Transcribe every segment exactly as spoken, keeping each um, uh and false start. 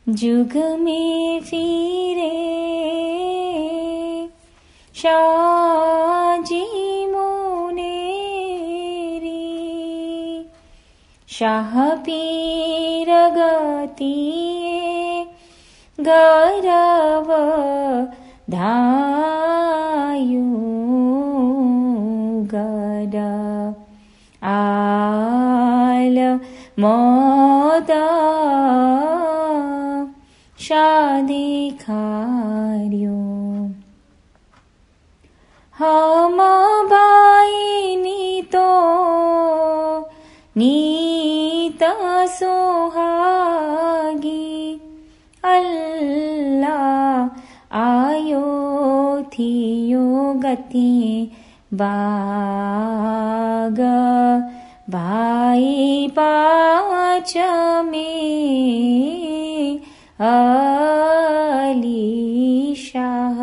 जुग में फिरे शाहजी मुनेरी, शाह पीर गतिए गौरव धायु गड आल मोदा शादी खार्यो हम बाई नीतो नीत सुहागी अल्लाह आयो थियो गति बाग भाई पाच में अली शाह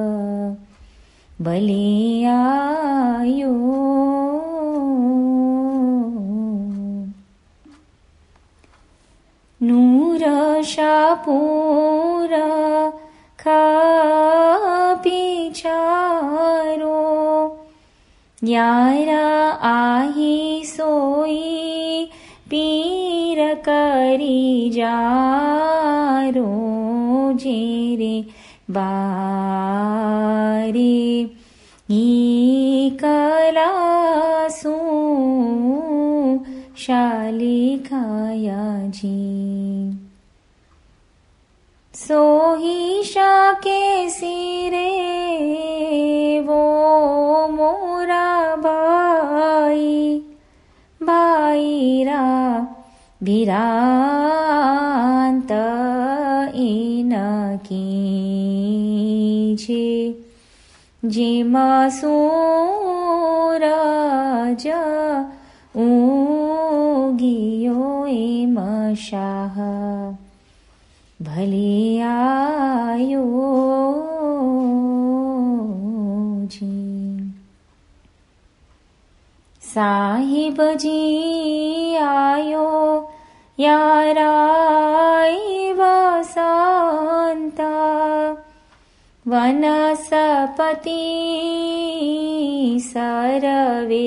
भले आयो। नूर शाहपुर खापी चारो यारा आही सोई पीर करी जारो जेरे बारे ही कलासू शाली खाया जी सोही शाह के सिरे वो मोरा भाई भाईरा भिरांत इनकी छे जेमा सूरज उगियो एम शाह भले आयो जी। साहिब जी आयो याराई वसंता वनस्पति सरवे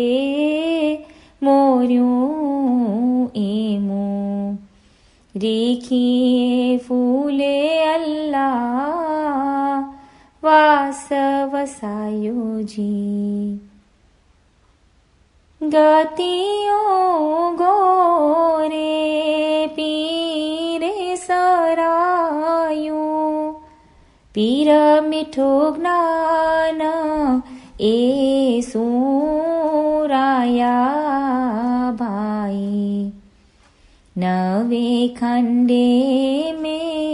मोर्यूं एमो रेखिए फूले अल्लाह वास वसायो जी। गतियो गोरे पीरे सरायो पीर मिठो ज्ञान ए सूराया भाई नवे खंडे में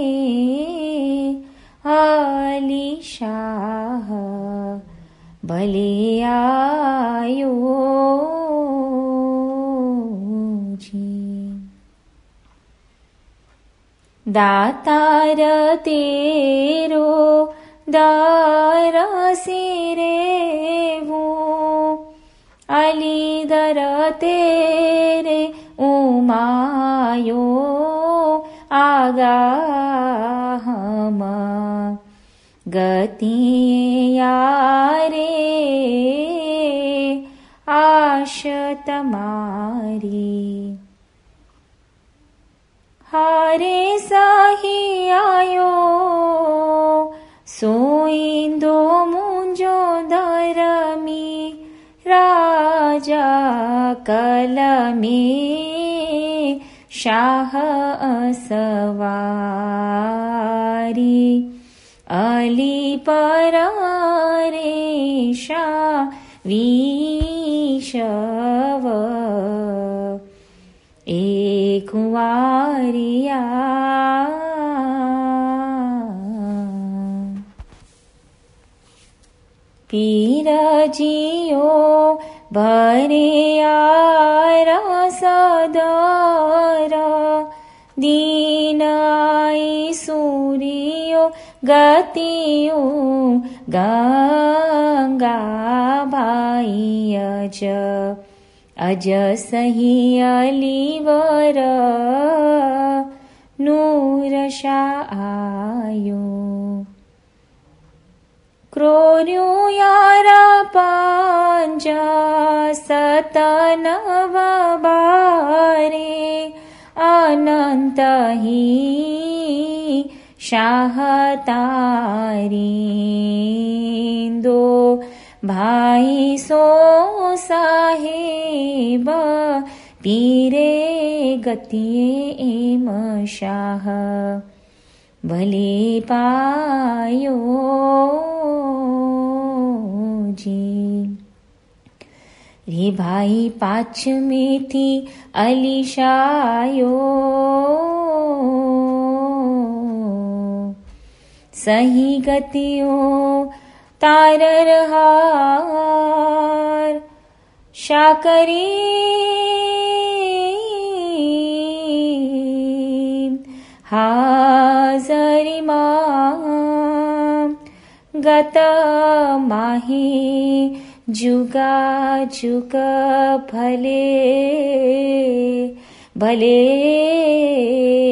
अली शाह भले आयो जी। दातार तेरो दार सिरे वो अली दर तेरे उमायो आगा हम गति यारे आश तमारी हारे साही आयो सोईंदो मुंजो धरमी राजा कलमे शाह असवारी अली पर रे शाह विशव एक कुंवारिया पीर जियो भरे आर सदर दीन आई सूर्यो गतियो गंगा भाई अज अज सही अलीवर नूर रशायो क्रोर्यो यारा पांजा सतनव बारे अनंत ही शाहतारिंदो भाई सो साहेब पीरे गतिये एम शाह भले पायो जी। रे भाई पाछ में थी अलीशायो सही गतियों तार हार शाकरी हाजरी मां गत माही जुगा जुग भले भले